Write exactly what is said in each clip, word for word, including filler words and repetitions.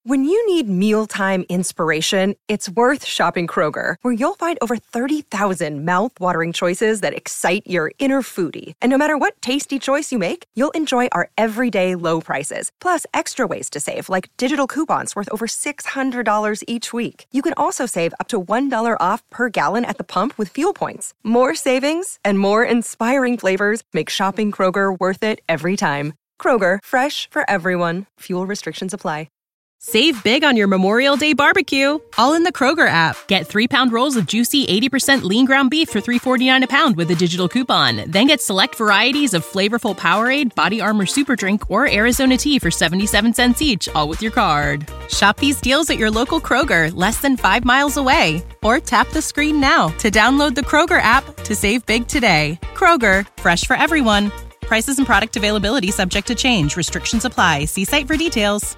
When you need mealtime inspiration, it's worth shopping Kroger, where you'll find over thirty thousand mouth-watering choices that excite your inner foodie. And no matter what tasty choice you make, you'll enjoy our everyday low prices, plus extra ways to save, like digital coupons worth over six hundred dollars each week. You can also save up to one dollar off per gallon at the pump with fuel points. More savings and more inspiring flavors make shopping Kroger worth it every time. Kroger, fresh for everyone. Fuel restrictions apply. Save big on your Memorial Day barbecue, all in the Kroger app. Get three-pound rolls of juicy eighty percent lean ground beef for three dollars and forty-nine cents a pound with a digital coupon. Then get select varieties of flavorful Powerade, Body Armor Super Drink, or Arizona tea for seventy-seven cents each, all with your card. Shop these deals at your local Kroger, less than five miles away. Or tap the screen now to download the Kroger app to save big today. Kroger, fresh for everyone. Prices and product availability subject to change. Restrictions apply. See site for details.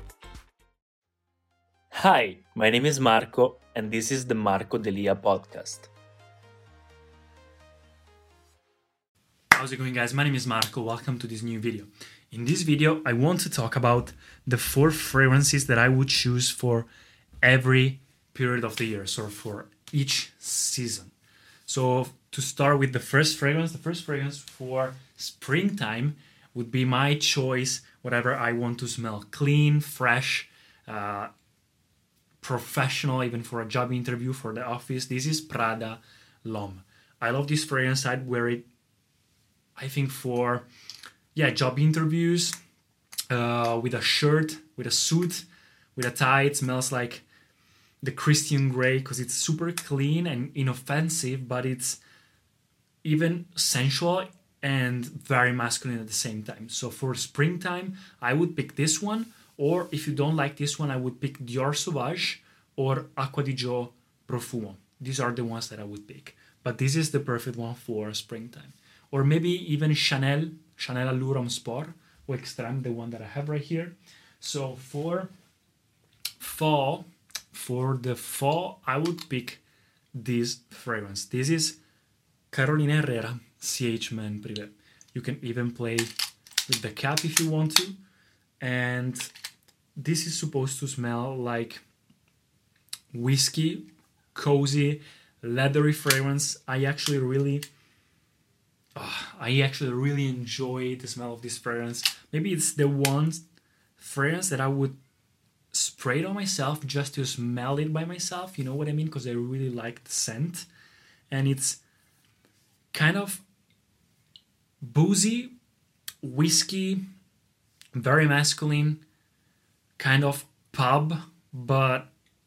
Hi, my name is Marco, and this is the Marco Delia podcast. How's it going, guys? My name is Marco. Welcome to this new video. In this video, I want to talk about the four fragrances that I would choose for every period of the year, so for each season. So to start with the first fragrance, the first fragrance for springtime would be my choice, whatever I want to smell. Clean, fresh, uh, professional, even for a job interview, for the office. This is Prada L'Homme. I love this fragrance. I'd wear it, I think, for yeah job interviews, uh, with a shirt, with a suit, with a tie. It smells like the Christian Grey because it's super clean and inoffensive, but it's even sensual and very masculine at the same time. So for springtime, I would pick this one. Or if you don't like this one, I would pick Dior Sauvage or Acqua di Gio Profumo. These are the ones that I would pick. But this is the perfect one for springtime. Or maybe even Chanel, Chanel Allure Homme Sport or Extreme, the one that I have right here. So for fall, for the fall, I would pick this fragrance. This is Carolina Herrera C H Men Privé. You can even play with the cap if you want to. And this is supposed to smell like whiskey, cozy, leathery fragrance. I actually really, oh, I actually really enjoy the smell of this fragrance. Maybe it's the one fragrance that I would spray it on myself just to smell it by myself. You know what I mean? Because I really like the scent. And it's kind of boozy, whiskey, very masculine, kind of pub, but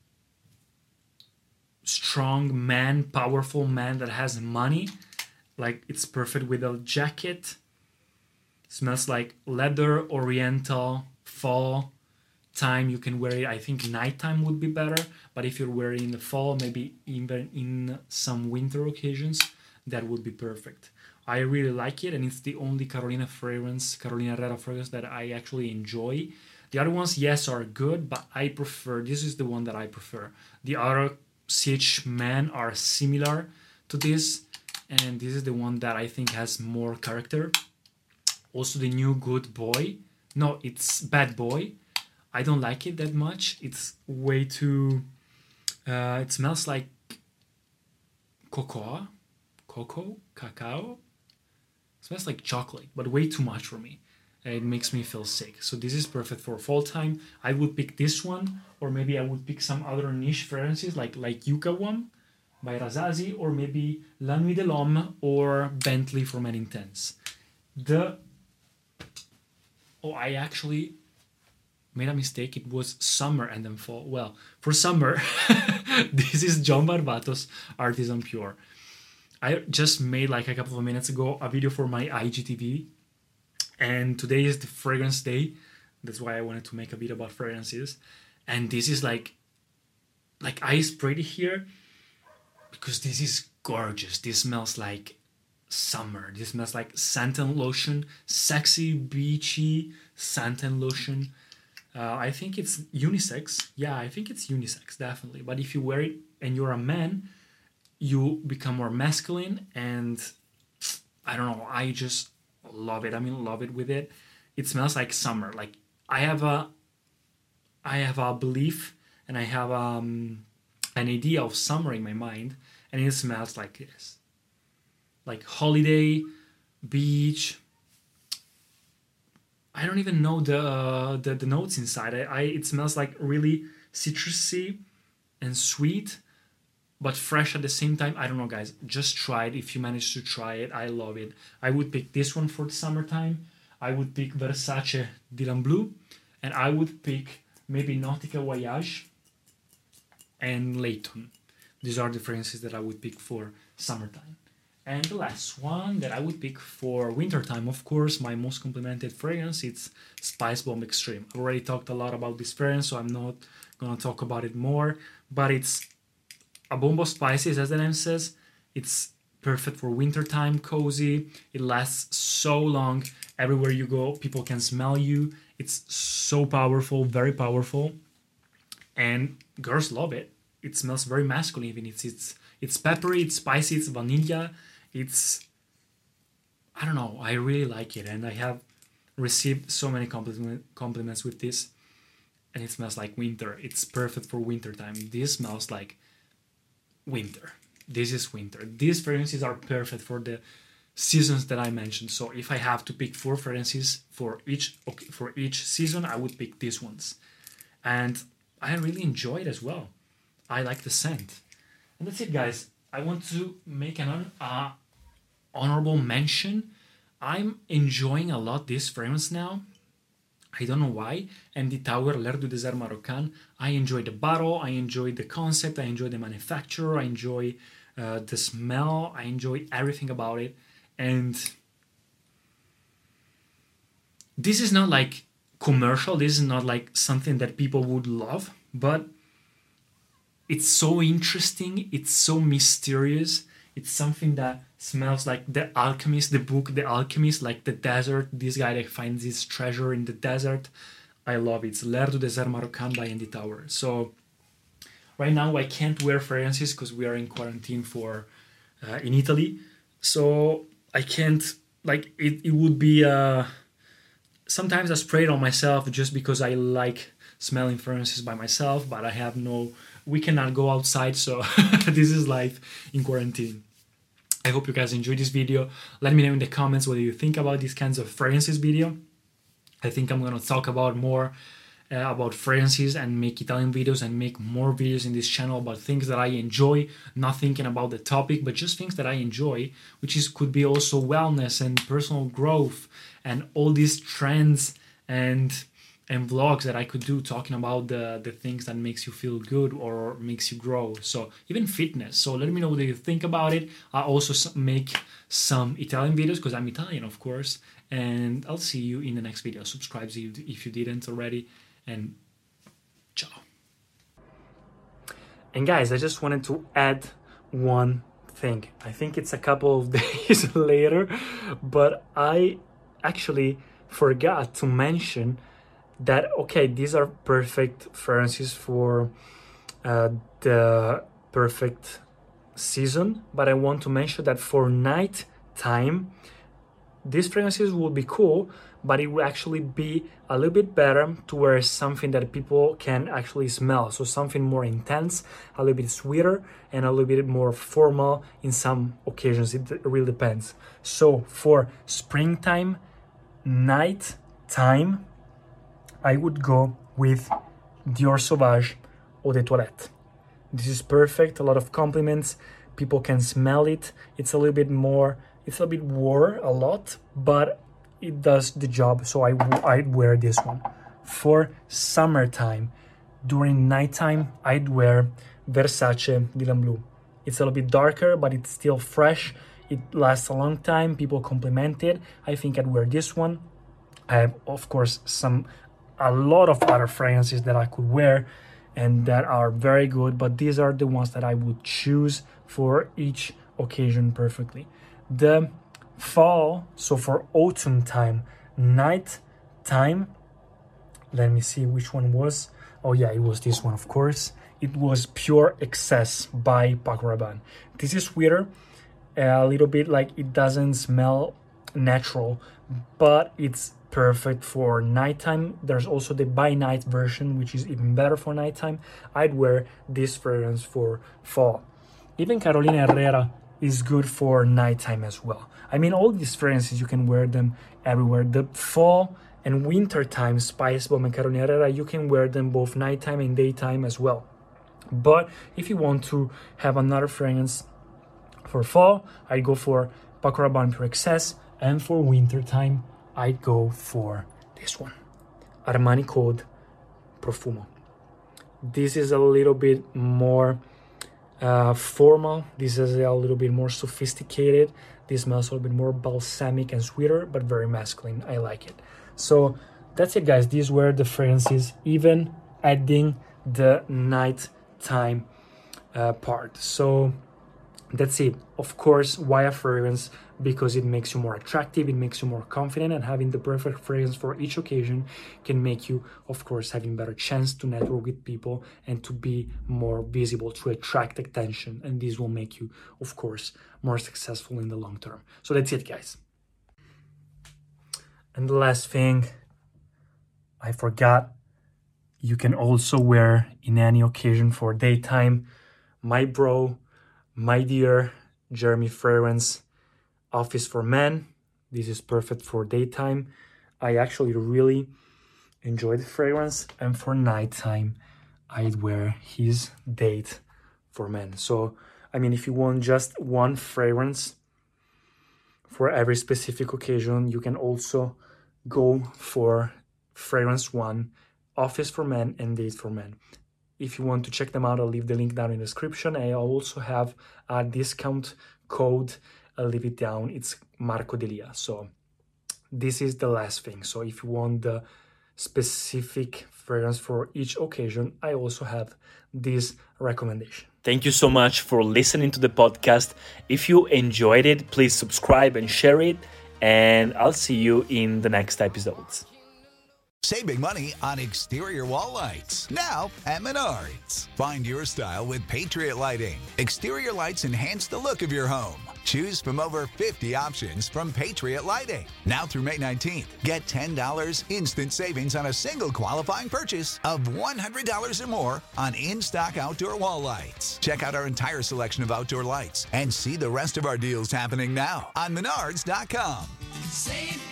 strong man, powerful man that has money. Like, it's perfect with a jacket. Smells like leather, oriental, fall time. You can wear it. I think nighttime would be better, but if you're wearing in the fall, maybe even in some winter occasions, that would be perfect. I really like it, and it's the only Carolina fragrance, Carolina Herrera fragrance that I actually enjoy. The other ones, yes, are good, but I prefer, this is the one that I prefer. The other C H Men are similar to this, and this is the one that I think has more character. Also, the new Good Boy. No, it's Bad Boy. I don't like it that much. It's way too, uh, it smells like cocoa, cocoa, cacao. It smells like chocolate, but way too much for me. It makes me feel sick. So this is perfect for fall time. I would pick this one, or maybe I would pick some other niche fragrances like like Yucca One by Razazi, or maybe La Nuit de l'Homme or Bentley for Men Intense. The oh, I actually made a mistake. It was summer and then fall. Well, for summer, this is John Barbatos Artisan Pure. I just made, like a couple of minutes ago, a video for my I G T V, and today is the fragrance day. That's why I wanted to make a video about fragrances. And this is like, like I sprayed it here because this is gorgeous. This smells like summer. This smells like suntan lotion, sexy, beachy suntan lotion. Uh, I think it's unisex. Yeah, I think it's unisex, definitely. But if you wear it and you're a man, you become more masculine, and I don't know, I just love it. I'm in love it with it. It smells like summer. Like, I have a I have a belief and I have um, an idea of summer in my mind, and it smells like this. Like holiday, beach. I don't even know the uh, the, the notes inside. I, I it smells like really citrusy and sweet, but fresh at the same time. I don't know, guys. Just try it if you manage to try it. I love it. I would pick this one for the summertime. I would pick Versace Dylan Blue, and I would pick maybe Nautica Voyage and Layton. These are the fragrances that I would pick for summertime. And the last one that I would pick for wintertime, of course, my most complimented fragrance, it's Spice Bomb Extreme. I've already talked a lot about this fragrance, so I'm not going to talk about it more. But it's a bomb of spices, as the name says. It's perfect for wintertime, cozy. It lasts so long. Everywhere you go, people can smell you. It's so powerful, very powerful. And girls love it. It smells very masculine even. It's, it's, it's peppery, it's spicy, it's vanilla. It's, I don't know, I really like it, and I have received so many compliment, compliments with this, and it smells like winter. It's perfect for winter time. This smells like winter. This is winter. These fragrances are perfect for the seasons that I mentioned. So if I have to pick four fragrances for each okay, for each season, I would pick these ones, and I really enjoy it as well. I like the scent, and that's it, guys. I want to make an uh, honorable mention. I'm enjoying a lot this fragrance now. I don't know why. Andy Tauer, L'air du désert marocain. I enjoy the bottle. I enjoy the concept. I enjoy the manufacturer. I enjoy uh, the smell. I enjoy everything about it. And this is not like commercial. This is not like something that people would love, but it's so interesting. It's so mysterious. It's something that smells like The Alchemist, the book The Alchemist, like the desert. This guy that finds his treasure in the desert. I love it. It's L'air du désert marocain by Andy Tauer. So right now I can't wear fragrances because we are in quarantine for uh, in Italy. So I can't, like, it, it would be uh, sometimes I spray it on myself just because I like smelling fragrances by myself, but I have no, we cannot go outside, so this is life in quarantine. I hope you guys enjoyed this video. Let me know in the comments what you think about these kinds of fragrances video. I think I'm going to talk about more uh, about fragrances and make Italian videos and make more videos in this channel about things that I enjoy, not thinking about the topic, but just things that I enjoy, which is could be also wellness and personal growth and all these trends and and vlogs that I could do talking about the, the things that makes you feel good or makes you grow. So even fitness. So let me know what you think about it. I also make some Italian videos because I'm Italian, of course. And I'll see you in the next video. Subscribe if you didn't already. And ciao. And guys, I just wanted to add one thing. I think it's a couple of days later, but I actually forgot to mention that, okay, these are perfect fragrances for uh, the perfect season, but I want to mention that for night time, these fragrances will be cool, but it will actually be a little bit better to wear something that people can actually smell. So something more intense, a little bit sweeter, and a little bit more formal in some occasions. It really depends. So for springtime, night time, I would go with Dior Sauvage Eau de Toilette. This is perfect, a lot of compliments, people can smell it. It's a little bit more, it's a bit warm a lot, but it does the job, so I, I'd wear this one. For summertime, during nighttime, I'd wear Versace Dylan Blue. It's a little bit darker, but it's still fresh. It lasts a long time, people compliment it. I think I'd wear this one. I have, of course, some a lot of other fragrances that I could wear and that are very good, but these are the ones that I would choose for each occasion perfectly. The fall, so for autumn time, night time, let me see which one was. Oh yeah, it was this one, of course. It was Pure Excess by Paco Rabanne. This is sweeter, a little bit like it doesn't smell natural, but it's perfect for nighttime. There's also the by night version, which is even better for nighttime. I'd wear this fragrance for fall. Even Carolina Herrera is good for nighttime as well. I mean, all these fragrances, you can wear them everywhere. The fall and winter time Spice Bomb and Carolina Herrera, you can wear them both nighttime and daytime as well. But if you want to have another fragrance for fall, I'd go for Paco Rabanne Pure Excess, and for winter time, I'd go for this one, Armani Code Profumo. This is a little bit more uh, formal. This is a little bit more sophisticated. This smells a little bit more balsamic and sweeter, but very masculine. I like it. So that's it, guys. These were the fragrances, even adding the nighttime uh, part. So that's it. Of course, why a fragrance? Because it makes you more attractive, it makes you more confident, and having the perfect fragrance for each occasion can make you, of course, having better chance to network with people and to be more visible, to attract attention. And this will make you, of course, more successful in the long term. So that's it, guys. And the last thing, I forgot, you can also wear in any occasion for daytime my bro, my dear Jeremy fragrance, Office for Men. This is perfect for daytime. I actually really enjoy the fragrance, and for nighttime I'd wear his Date for Men. So I mean, if you want just one fragrance for every specific occasion, you can also go for fragrance one, Office for Men and Date for Men. If you want to check them out, I'll leave the link down in the description. I also have a discount code. I'll leave it down. It's Marco Delia. So this is the last thing. So if you want the specific fragrance for each occasion, I also have this recommendation. Thank you so much for listening to the podcast. If you enjoyed it, please subscribe and share it. And I'll see you in the next episodes. Saving money on exterior wall lights. Now at Menards. Find your style with Patriot Lighting. Exterior lights enhance the look of your home. Choose from over fifty options from Patriot Lighting. Now through May nineteenth, get ten dollars instant savings on a single qualifying purchase of one hundred dollars or more on in-stock outdoor wall lights. Check out our entire selection of outdoor lights and see the rest of our deals happening now on Menards dot com. Save